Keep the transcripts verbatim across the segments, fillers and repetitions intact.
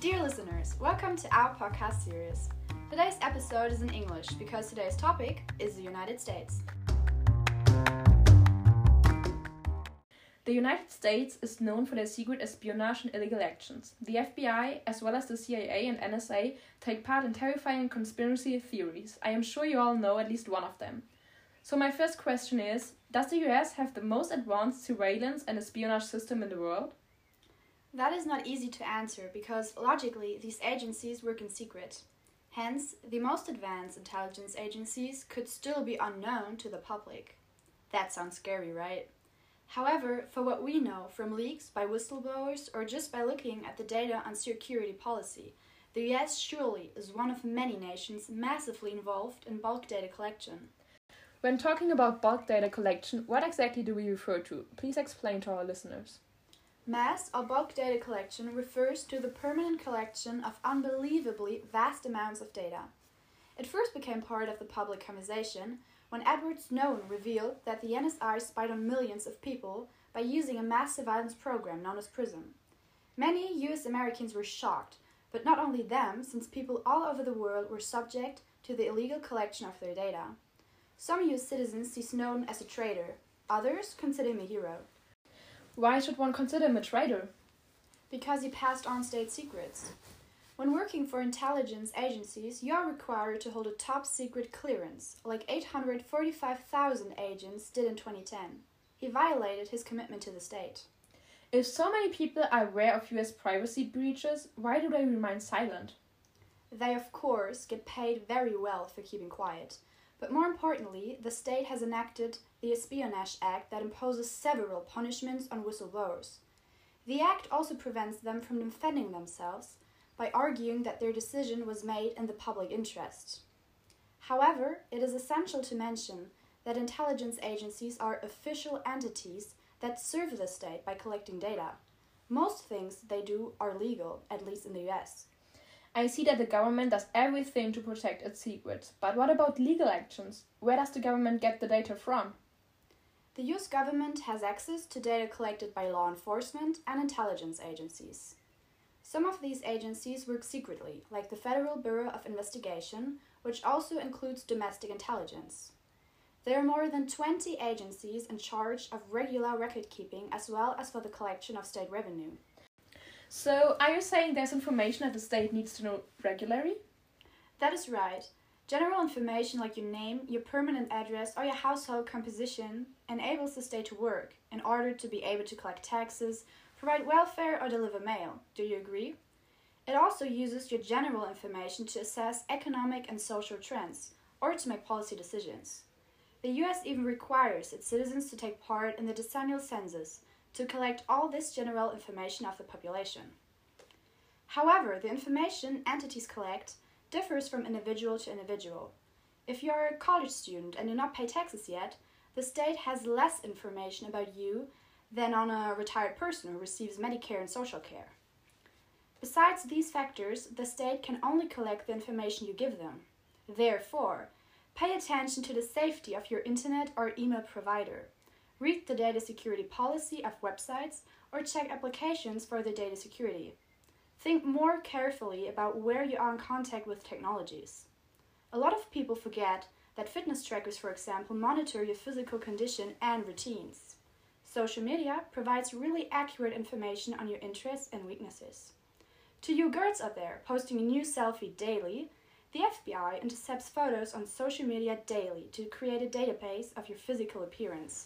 Dear listeners, welcome to our podcast series. Today's episode is in English because today's topic is the United States. The United States is known for their secret espionage and illegal actions. The F B I, as well as the C I A and N S A, take part in terrifying conspiracy theories. I am sure you all know at least one of them. So my first question is, does the U S have the most advanced surveillance and espionage system in the world? That is not easy to answer because, logically, these agencies work in secret. Hence, the most advanced intelligence agencies could still be unknown to the public. That sounds scary, right? However, for what we know from leaks by whistleblowers or just by looking at the data on security policy, the U S surely is one of many nations massively involved in bulk data collection. When talking about bulk data collection, what exactly do we refer to? Please explain to our listeners. Mass or bulk data collection refers to the permanent collection of unbelievably vast amounts of data. It first became part of the public conversation when Edward Snowden revealed that the N S A spied on millions of people by using a mass surveillance program known as PRISM. Many U S Americans were shocked, but not only them, since people all over the world were subject to the illegal collection of their data. Some U S citizens see Snowden as a traitor, others consider him a hero. Why should one consider him a traitor? Because he passed on state secrets. When working for intelligence agencies, you are required to hold a top-secret clearance, like eight hundred forty-five thousand agents did in twenty ten. He violated his commitment to the state. If so many people are aware of U S privacy breaches, why do they remain silent? They, of course, get paid very well for keeping quiet. But more importantly, the state has enacted the Espionage Act that imposes several punishments on whistleblowers. The act also prevents them from defending themselves by arguing that their decision was made in the public interest. However, it is essential to mention that intelligence agencies are official entities that serve the state by collecting data. Most things they do are legal, at least in the U S. I see that the government does everything to protect its secrets, but what about legal actions? Where does the government get the data from? The U S government has access to data collected by law enforcement and intelligence agencies. Some of these agencies work secretly, like the Federal Bureau of Investigation, which also includes domestic intelligence. There are more than twenty agencies in charge of regular record-keeping as well as for the collection of state revenue. So, are you saying there's information that the state needs to know regularly? That is right. General information like your name, your permanent address, or your household composition enables the state to work in order to be able to collect taxes, provide welfare, or deliver mail. Do you agree? It also uses your general information to assess economic and social trends, or to make policy decisions. The U S even requires its citizens to take part in the decennial census to collect all this general information of the population. However, the information entities collect differs from individual to individual. If you are a college student and do not pay taxes yet, the state has less information about you than on a retired person who receives Medicare and social care. Besides these factors, the state can only collect the information you give them. Therefore, pay attention to the safety of your internet or email provider. Read the data security policy of websites or check applications for the data security. Think more carefully about where you are in contact with technologies. A lot of people forget that fitness trackers, for example, monitor your physical condition and routines. Social media provides really accurate information on your interests and weaknesses. To you girls out there posting a new selfie daily, the F B I intercepts photos on social media daily to create a database of your physical appearance.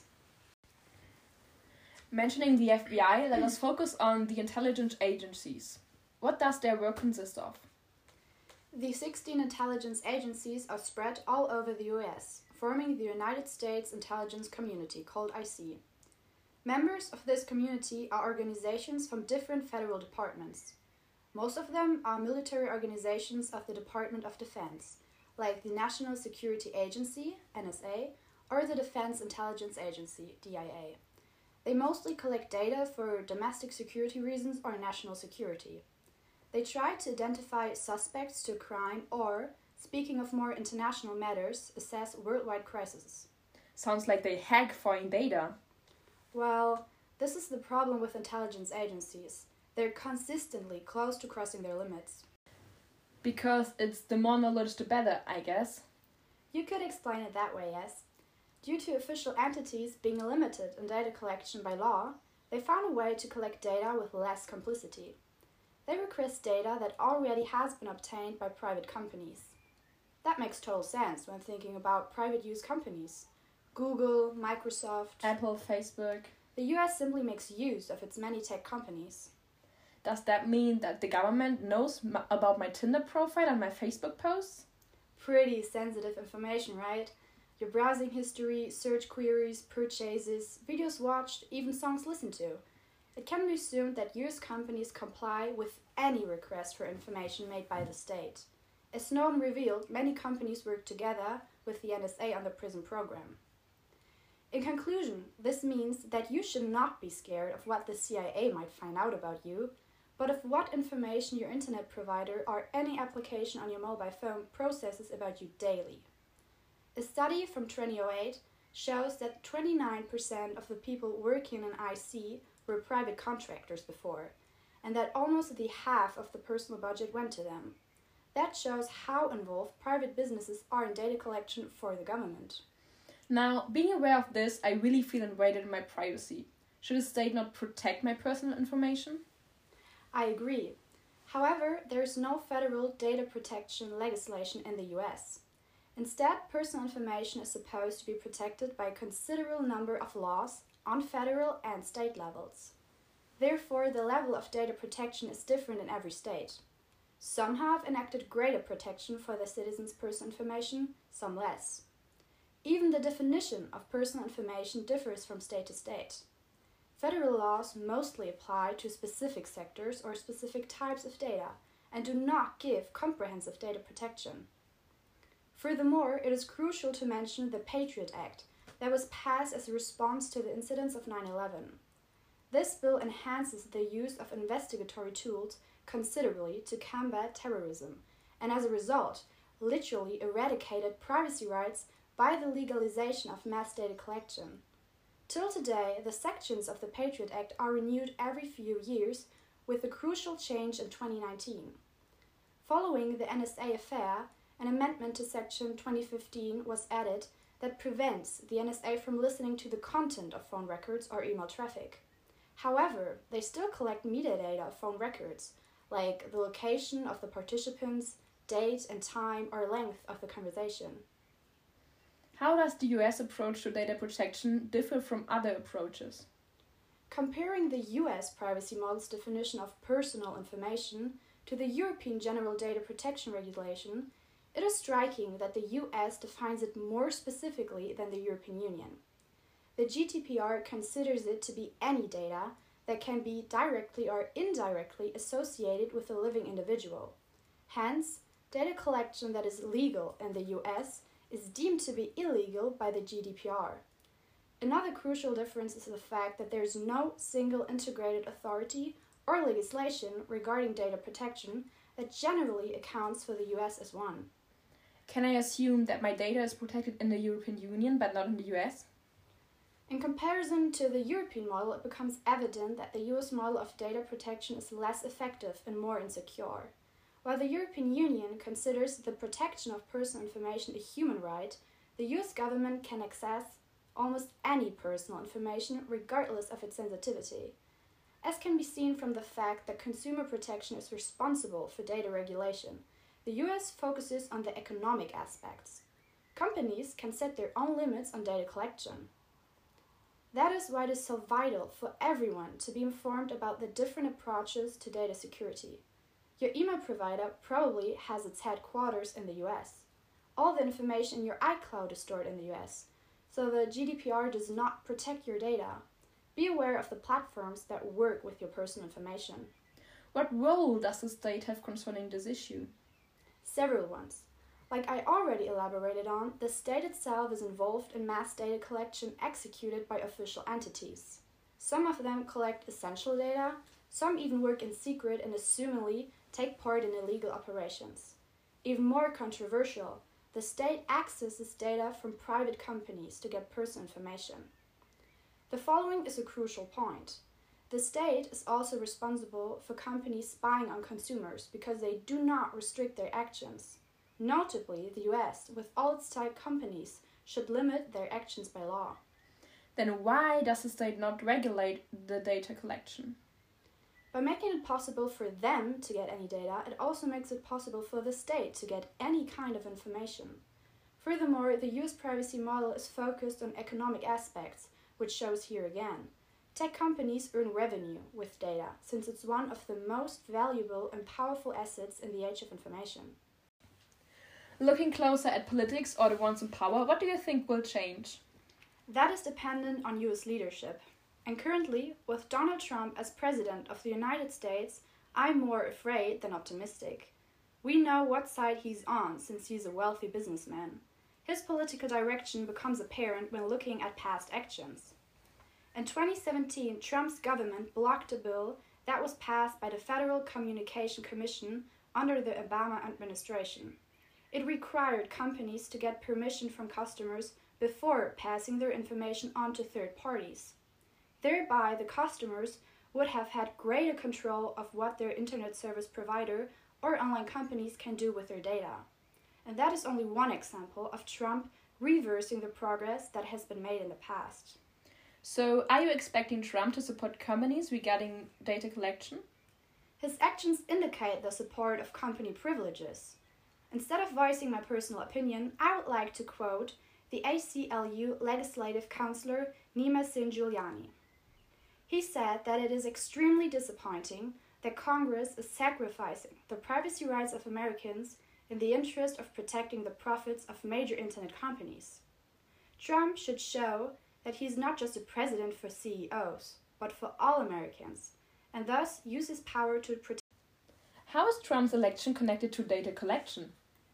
Mentioning the F B I, let us focus on the intelligence agencies. What does their work consist of? The sixteen intelligence agencies are spread all over the U S, forming the United States Intelligence Community, called I C. Members of this community are organizations from different federal departments. Most of them are military organizations of the Department of Defense, like the National Security Agency, N S A, or the Defense Intelligence Agency, D I A. They mostly collect data for domestic security reasons or national security. They try to identify suspects to a crime or, speaking of more international matters, assess worldwide crises. Sounds like they hack foreign data. Well, this is the problem with intelligence agencies. They're consistently close to crossing their limits. Because it's the more knowledge the better, I guess. You could explain it that way, yes. Due to official entities being limited in data collection by law, they found a way to collect data with less complicity. They request data that already has been obtained by private companies. That makes total sense when thinking about private use companies. Google, Microsoft, Apple, Facebook. The U S simply makes use of its many tech companies. Does that mean that the government knows m- about my Tinder profile and my Facebook posts? Pretty sensitive information, right? Your browsing history, search queries, purchases, videos watched, even songs listened to. It can be assumed that U S companies comply with any request for information made by the state. As Snowden revealed, many companies work together with the N S A on the PRISM program. In conclusion, this means that you should not be scared of what the C I A might find out about you, but of what information your internet provider or any application on your mobile phone processes about you daily. A study from twenty oh eight shows that twenty-nine percent of the people working in I C were private contractors before, and that almost the half of the personal budget went to them. That shows how involved private businesses are in data collection for the government. Now, being aware of this, I really feel invaded in my privacy. Should the state not protect my personal information? I agree. However, there is no federal data protection legislation in the U S. Instead, personal information is supposed to be protected by a considerable number of laws on federal and state levels. Therefore, the level of data protection is different in every state. Some have enacted greater protection for their citizens' personal information, some less. Even the definition of personal information differs from state to state. Federal laws mostly apply to specific sectors or specific types of data and do not give comprehensive data protection. Furthermore, it is crucial to mention the Patriot Act that was passed as a response to the incidents of nine eleven. This bill enhances the use of investigatory tools considerably to combat terrorism, and as a result, literally eradicated privacy rights by the legalization of mass data collection. Till today, the sections of the Patriot Act are renewed every few years, with a crucial change in twenty nineteen. Following the N S A affair, an amendment to Section twenty fifteen was added that prevents the N S A from listening to the content of phone records or email traffic. However, they still collect metadata of phone records, like the location of the participants, date and time or length of the conversation. How does the U S approach to data protection differ from other approaches? Comparing the U S privacy model's definition of personal information to the European General Data Protection Regulation, it is striking that the U S defines it more specifically than the European Union. The G D P R considers it to be any data that can be directly or indirectly associated with a living individual. Hence, data collection that is legal in the U S is deemed to be illegal by the G D P R. Another crucial difference is the fact that there is no single integrated authority or legislation regarding data protection that generally accounts for the U S as one. Can I assume that my data is protected in the European Union but not in the U S? In comparison to the European model, it becomes evident that the U S model of data protection is less effective and more insecure. While the European Union considers the protection of personal information a human right, the U S government can access almost any personal information regardless of its sensitivity. As can be seen from the fact that consumer protection is responsible for data regulation, the U S focuses on the economic aspects. Companies can set their own limits on data collection. That is why it is so vital for everyone to be informed about the different approaches to data security. Your email provider probably has its headquarters in the U S. All the information in your iCloud is stored in the U S, so the G D P R does not protect your data. Be aware of the platforms that work with your personal information. What role does the state have concerning this issue? Several ones. Like I already elaborated on, the state itself is involved in mass data collection executed by official entities. Some of them collect essential data, some even work in secret and assumingly take part in illegal operations. Even more controversial, the state accesses data from private companies to get personal information. The following is a crucial point. The state is also responsible for companies spying on consumers because they do not restrict their actions. Notably, the U S, with all its tech companies, should limit their actions by law. Then why does the state not regulate the data collection? By making it possible for them to get any data, it also makes it possible for the state to get any kind of information. Furthermore, the U S privacy model is focused on economic aspects, which shows here again. Tech companies earn revenue with data, since it's one of the most valuable and powerful assets in the age of information. Looking closer at politics or the ones in power, what do you think will change? That is dependent on U S leadership. And currently, with Donald Trump as President of the United States, I'm more afraid than optimistic. We know what side he's on, since he's a wealthy businessman. His political direction becomes apparent when looking at past actions. In twenty seventeen, Trump's government blocked a bill that was passed by the Federal Communication Commission under the Obama administration. It required companies to get permission from customers before passing their information on to third parties. Thereby, the customers would have had greater control of what their internet service provider or online companies can do with their data. And that is only one example of Trump reversing the progress that has been made in the past. So, are you expecting Trump to support companies regarding data collection? His actions indicate the support of company privileges. Instead of voicing my personal opinion, I would like to quote the A C L U legislative counselor Nima Singh-Giuliani. He said that it is extremely disappointing that Congress is sacrificing the privacy rights of Americans in the interest of protecting the profits of major internet companies. Trump should show that he is not just a president for C E Os, but for all Americans, and thus use his power to protect. How is Trump's election connected to data collection?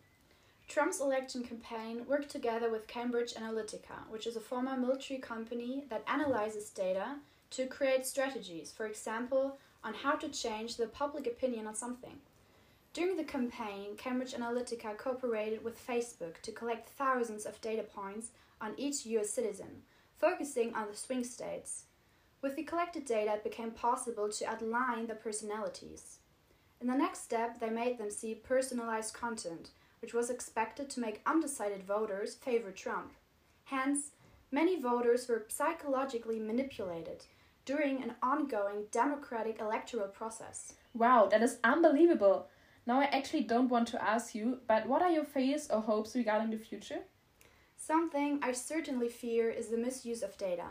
Trump's election campaign worked together with Cambridge Analytica, which is a former military company that analyzes data to create strategies, for example, on how to change the public opinion on something. During the campaign, Cambridge Analytica cooperated with Facebook to collect thousands of data points on each U S citizen, focusing on the swing states. With the collected data, it became possible to outline their personalities. In the next step, they made them see personalized content, which was expected to make undecided voters favor Trump. Hence, many voters were psychologically manipulated during an ongoing democratic electoral process. Wow, that is unbelievable. Now I actually don't want to ask you, but what are your fears or hopes regarding the future? Something I certainly fear is the misuse of data.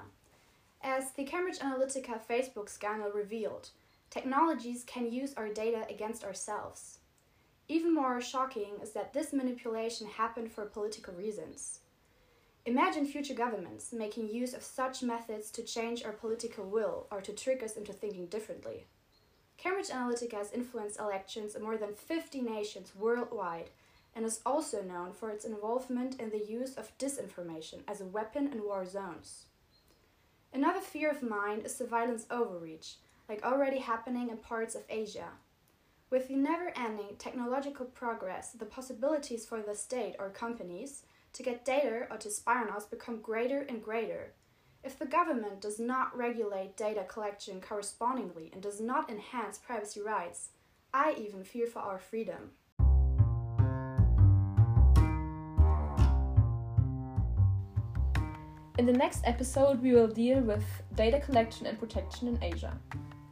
As the Cambridge Analytica Facebook scandal revealed, technologies can use our data against ourselves. Even more shocking is that this manipulation happened for political reasons. Imagine future governments making use of such methods to change our political will or to trick us into thinking differently. Cambridge Analytica has influenced elections in more than fifty nations worldwide and is also known for its involvement in the use of disinformation as a weapon in war zones. Another fear of mine is surveillance overreach, like already happening in parts of Asia. With the never-ending technological progress, the possibilities for the state or companies to get data or to spy on us become greater and greater. If the government does not regulate data collection correspondingly and does not enhance privacy rights, I even fear for our freedom. In the next episode, we will deal with data collection and protection in Asia.